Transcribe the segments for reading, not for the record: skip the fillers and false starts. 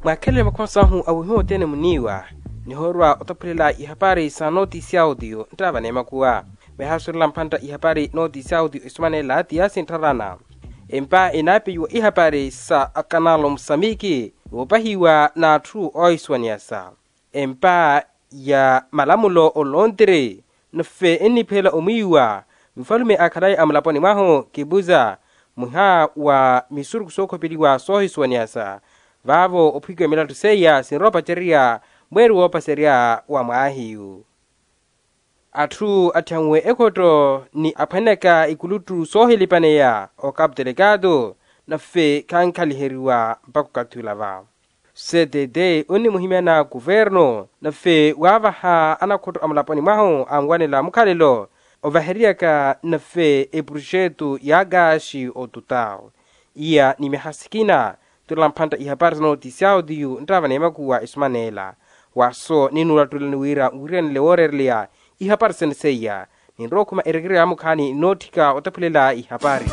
Mwakele makwasahu awuhimu tene muniwa ni horwa otapulila ihapari sa notisi audio ntaba nema kuwa behasula mpanta ihapari notisi audio ismane la tiasi ntarana empa inapi yu ihapari sa akanalo Msamiki upahiwa na true oiswaniasa empa ya malamulo olondre nfe enipela omiwa mfalume akadai amlaponi maho kibuza muha wa misuru kusoko piliwa sohiswaniasa vavo opikwe milatu seya sinropa cheria mweru wopa seria wa maahiyu. Atu atangwe ekoto ni apaneka ikulutu sohilipaneya o kap delegado na fe kankaliheriwa mpako katulava. CDD uni muhimena guverno na fe wavaha anakoto amlaponi maho amwane la mukalilo ovaheriaka na fe e projeto yagashi o tutao. Ia ni mehasikina tulampanta ihapari notisi audio ntava nema kuwa ismanela waso ninula tulaniwira urian leorerlia ihapari senseya ninrokuma eregere amukani notika otapulela ihapari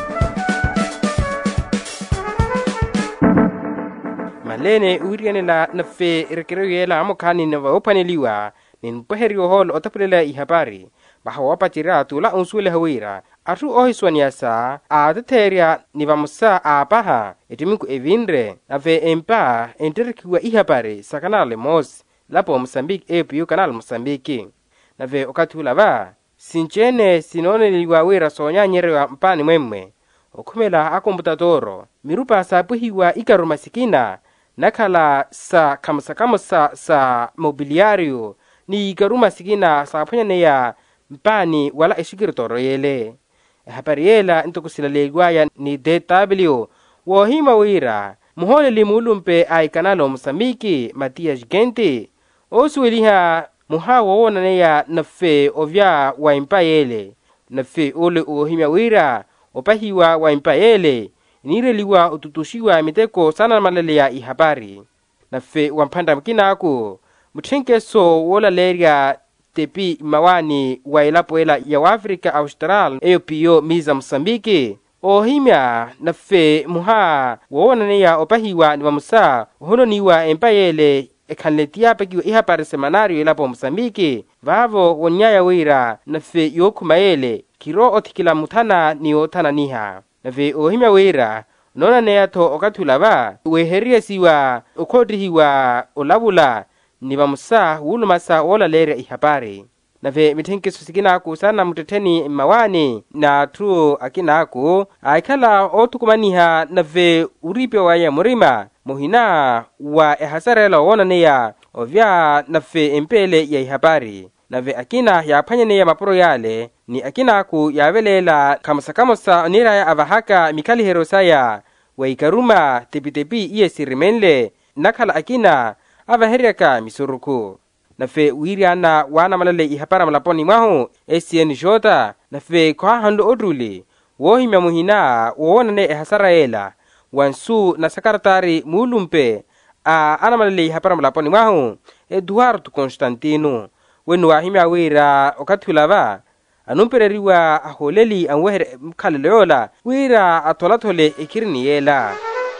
malene urian la nafe eregere yela amukani nava opaneliwa ninpoherio hol otapulela ihapari bahawapatira tula unsule hawira atu ohiswaniasa ateteria nivamusa apaha etiminku evinre ave empa enterikiwa ihapari sa kanale mos lapo Mozambique epiu kanal Mozambique nave okatulava sinchene sinoneliwa wira sonyanyerwa mpani mwemwe okumela akomputadoro mirupa sapuhiwa ikaruma sikina nakala sa kamsa sa mobiliario ni ikaruma sikina sa punyaneya mpani wala eshikiritoro yele hapari yela intokusilalegwaya ni DW wohima wira muhole limulumpe ay kanalo Mozambique Matias Gente osueliha muha wowonaneya nafe ovya wa impa yele nafe ole ohima wira opahiwa wa impa yele nireliwa ututushiwa miteko sana malele ya ihapari nafe wampanda mkinaku muthenkeso wola leria tepi mawani wa ilapoela ya Afrika Austral eopio miza Mozambique ohimya nafe muha wowonaneya opahiwa nivamusa ohononiwa empayele ekanletia pekiwa ihapari semanario ilapo Mozambique vavo wonyaya wira nafe yokumayele kiro otikila mutana ni otana niha nafe ohimya wira nona neyato okatulava weheria siwa okodrihiwa olabula nivamusa wulumasa wola leria ihapari nave mithenkeso sikinaku sana muteteni mawani na tu akinaku aikala otukumaniha nave uripe waya murima muhina wa ehasarela wonaneya ovya nave empele ya ihapari nave akina yaphanyaneya mapuro yale ni akinaku yavelela kamusa niraya avahaka mikalihero saya wa ikaruma tepi iye sirimenle nakala akina avaheriaka misuruku nafe wiriana wana malale ihapara malaponi mahu SN Jota nafe kwa hando odruli wohimya muhina wowonane ehasaraela wansu na sakaratari mulumpe ana malale ihapara malaponi mahu Eduardo Constantino wenu wahimya wira okatulava anumpereriwa aholeli anwehere mkalileola wira atolatole ikirini yela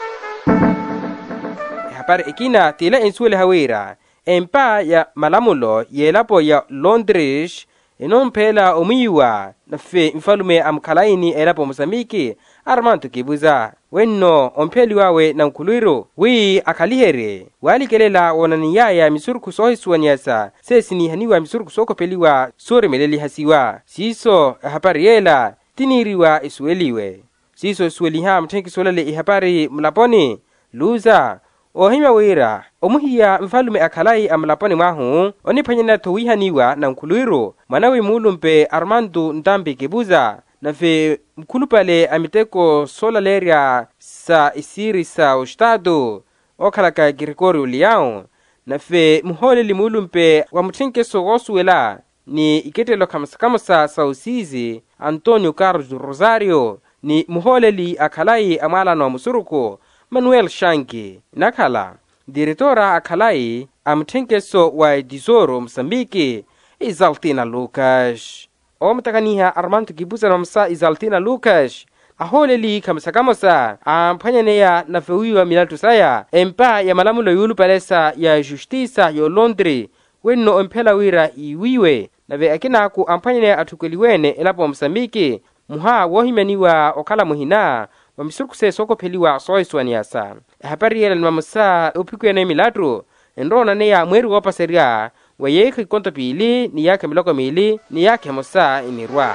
ihapara ikina tila insuele hawira empa ya malamulo yelapo ya Londres enompela omiwa nafe mfalume amkalaini elapo Mozambique Armando Kibuza wenno ompeli wawe na nkuluiro wi akalihere walikelela wonaniyaya misuruku sohiswaniasa sesini haniwa misuruku sokopeliwa sore meleli hasiwa siso hapari yela tiniriwa isueliwe siso sueliha mtenki solele ihapari mlaponi luza ohima wira omuhiya mfalume akalai amlaponi mahu onipanyana towihaniwa na nkuluiro manawi mulumpe Armando Ndambi Kibuza nafe mkulupale amiteko sola leria sa isiri sa ustado okalaka Gregorio Leão nafe muhole limulumpe wa muthenkeso gosuela ni iketelo kamsa sa usizi Antonio Carlos Rosario ni muhole li akalai amala no musuruko Manuel Shanki nakala diretora akalai amthenkeso wa Tesouro Mozambique Isaltina Lucas omtakaniha Armando Kibuza nomsa Isaltina Lucas aholeli kamsakamosa amphanyaneya nafewiwa milatu saya empa ya malamulo yulu palesa ya justiça yo Londres wenno omphela wira iwiwe nave akinaku amphanyaneya athukeliwene elapo Msambiki muha wohimaniwa okhala muhina wa misurukuse sokopheliwa soiswaniasa hapariela ni mamusa upikwene milatu enrona neya mweri wopaseria wa yekhi konto pili ni yake miloko mili ni yake musa inirwa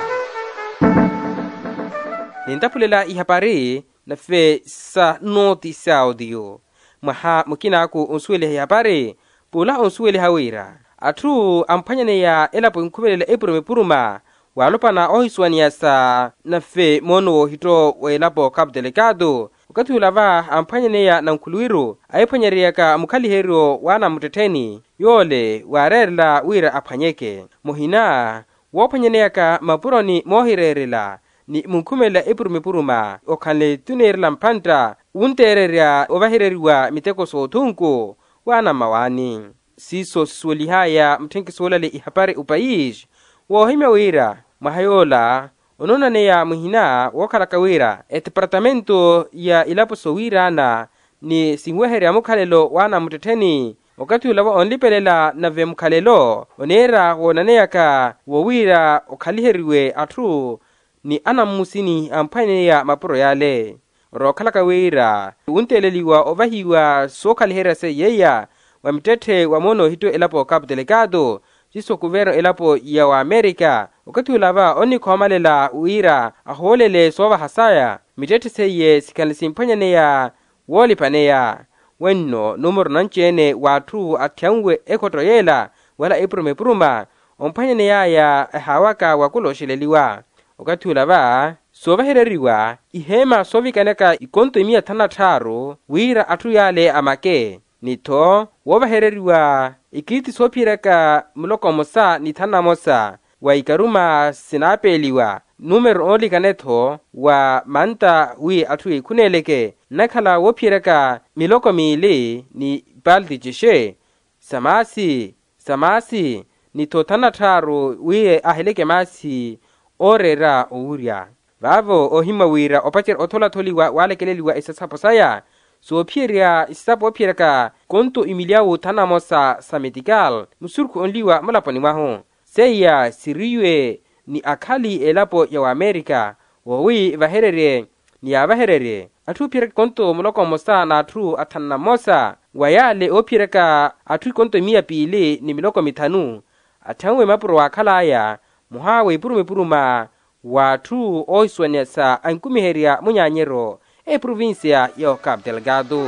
nintapulela ihapari na fe sa noticia audio maha mukinaku unsuele ihapari pula unsuele hawira atu amphanyaneya elapo inkhuvelela epurumepuruma walopana ohiswaniasa na fe mono hito welapo Cabo Delgado wakati ulava amphanyaneya na nkhuluwiru aiphwanyereyaka mukhaliheryo wana muteteni yole warerela wira aphwanyeke muhina wophwanyeneyaka mapuroni mohirerela ni munkhumela epurumepuruma okhanle tunerela mphantra untererya ovahireriwa miteko soothunku wana mawani siso sisuelihaya mthenkisolale ihapari upaish wohime wira mahayola ononaneya muhina wokhalaka wira departamento ya ilapo sowirana ni singweherya mukhalelo wana mutetheni wakati ulava onlipelela nave mukhalelo onera wonaneyaka wowira okhaliheriwe athu ni anamusini amphanyaneya mapuro yale rokhalaka wira unteleliwa ovahiwa sokhalihera se yeya wa mitethe wa mono hito elapo Cabo Delgado jiso kuvero elapo ya wa Amerika wakati ulava onikhomalela wira aholele sova hasaya mitethe seye sikanlisimphwanyaneya wolipaneya wenno numero nanchene wathu athyanwe ekhotoyela wala epurumepuruma omphwanyaneyaya hawaka wakulosheleliwa wakati ulava sovahereriwa ihema sovikaneka ikonto 153 wira athu yale amake nitho wovahereriwa ikiti sophireka muloko mosa nithana mosa wa ikaruma sinapeliwa numero olikanetho wa manta wi athu ikhuneleke nakhala wophireka miloko mili ni baldi jishe samasi nitho thana tharu wi aheleke masi orera ourya vavo ohima wira opachera otholatholiwa walekeleliwa isasapo saya sophirya isasapo ophireka konto imiliawu thana mosa sa medical musurku onliwa mulaponi mwaho seya siriwe ni akhali elapo ya wa Amerika wowi vaherere ni avaherere athu phireka konto muloko mosa na athu athanna mosa wayale ophireka athu konto 200 ni miloko mithanu athangwe mapuro wakhalaya muhawe ipurumepuruma wathu oiswaniasa ankumiherya munyanyero provincia ya Cabo Delgado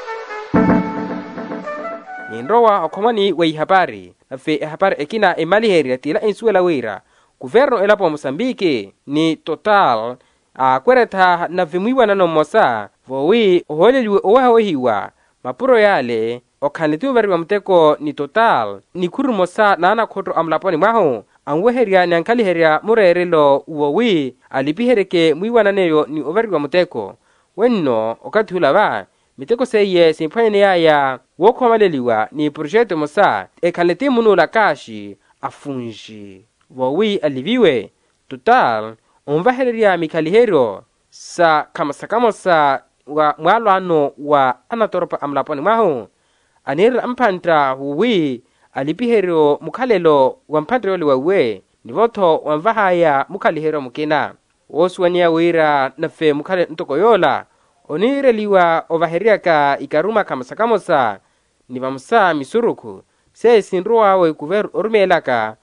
ninrowa okhomani wa ihapari nafe ihapari ekina emaliherya tila insuela wira governo elapo Mosambiki ni total akweretha navimwiwa nanomosa vowi oholeliwe owahohiwa mapuro yale okhanletiuveriwa muteko ni total ni khurumosa nana khoto amulaponi mwaho anweherya ni ankhaliherya murerelo uwowi alipihereke mwiwananeyo ni overiwa muteko wenno okati ulava miteko seye simphwanyaneyaya wokhomaleliwa ni projeto mosa ekhanleti munula kashi afunji wowi aliviwe total onvahererya mikhaliheryo sa khamasakamosa wa mwalwano wa anatoropa amulaponi mwaho anirira mphantra huwi alipiheryo mukhalelo wa mphantra yole wawe nivotho wamvahaya mukhaliheryo mukina wosuwania wira nafe mukhale ntokoyola onireliwa ovaheryaka ikaruma khamasakamosa nivamusa misuruku se sinruwawe kuveru orumelaka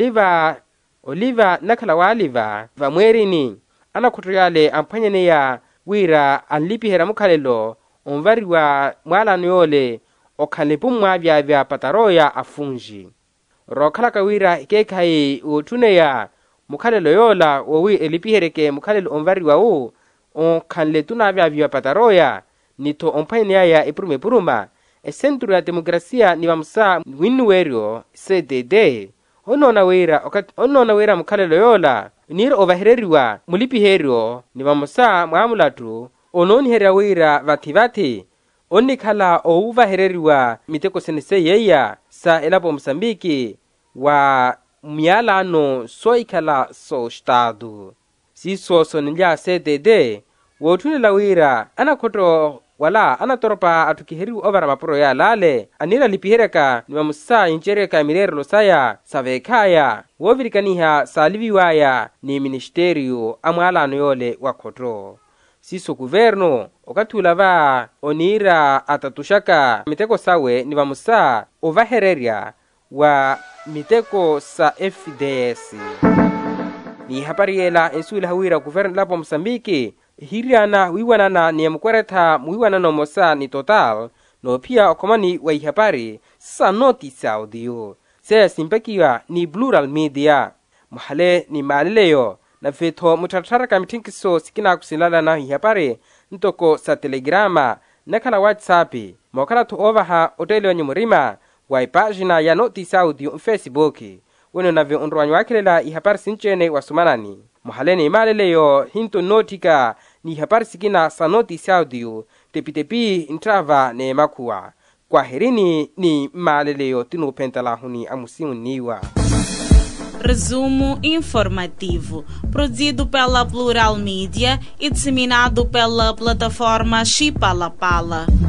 oliva nakhala waliva vamwerini anakhutoyale amphwanyaneya wira anlipihera mukhalelo onvariwa mwalano yole okhanlepu mwavyavya pataroya afunji rokhalaka wira ikekhayi uthuneya mukhalelo yola wowi elipihereke mukhalelo onvariwawu okhanle tunavyavya pataroya nitho omphwanyaneyaya epurumepuruma esentro ya demokrasia nivamusa winnuweryo CDD onona wira mukhalelo yola nira ovahereriwa mulipiheryo nivamusa mwamulatu ononiherya wira vathi onikhala ouvahereriwa miteko senese yeya sa elapo Mosambiki wa myalano soikhala so estado siso sonilya CDD wothuni lawira ana khoto wala ana toropa atukiheriu ovara mapuro ya lale anira lipihereka ni mamusa inchereka mirero losaya savekhaya wovirikaniha saliviwaya ni ministerio amwalano yole wa khotro siso governo okathula va onira atatushaka miteko sawe ni mamusa ovahererya wa miteko sa FDS ni hapariela ensula hawira governo lapo Msambiki hiriana wiwanana ni mkweretha mwiwanano mosa ni total no pia okomani wa ihapari sa notice audio se simpekiwa ni Plural Media muhale ni maleleyo na fetho mutatharaka mitinkiso sikina kusilala na ihapari ntoko sa telegrama nakala WhatsApp mokala to ovaha otele onye murima wa pagina ya notice audio Facebook weno na veondrwanyo wakilela ihapari sinchene wasumanani muhaleni maleleyo hinto notika ni ihapari sikina sa notice audio tepi intrava ne makua kwa herini ni maleleyo tinopentala huni amusimu niwa. Resumo informativo, produzido pela Plural Media e disseminado pela plataforma Chipalapala.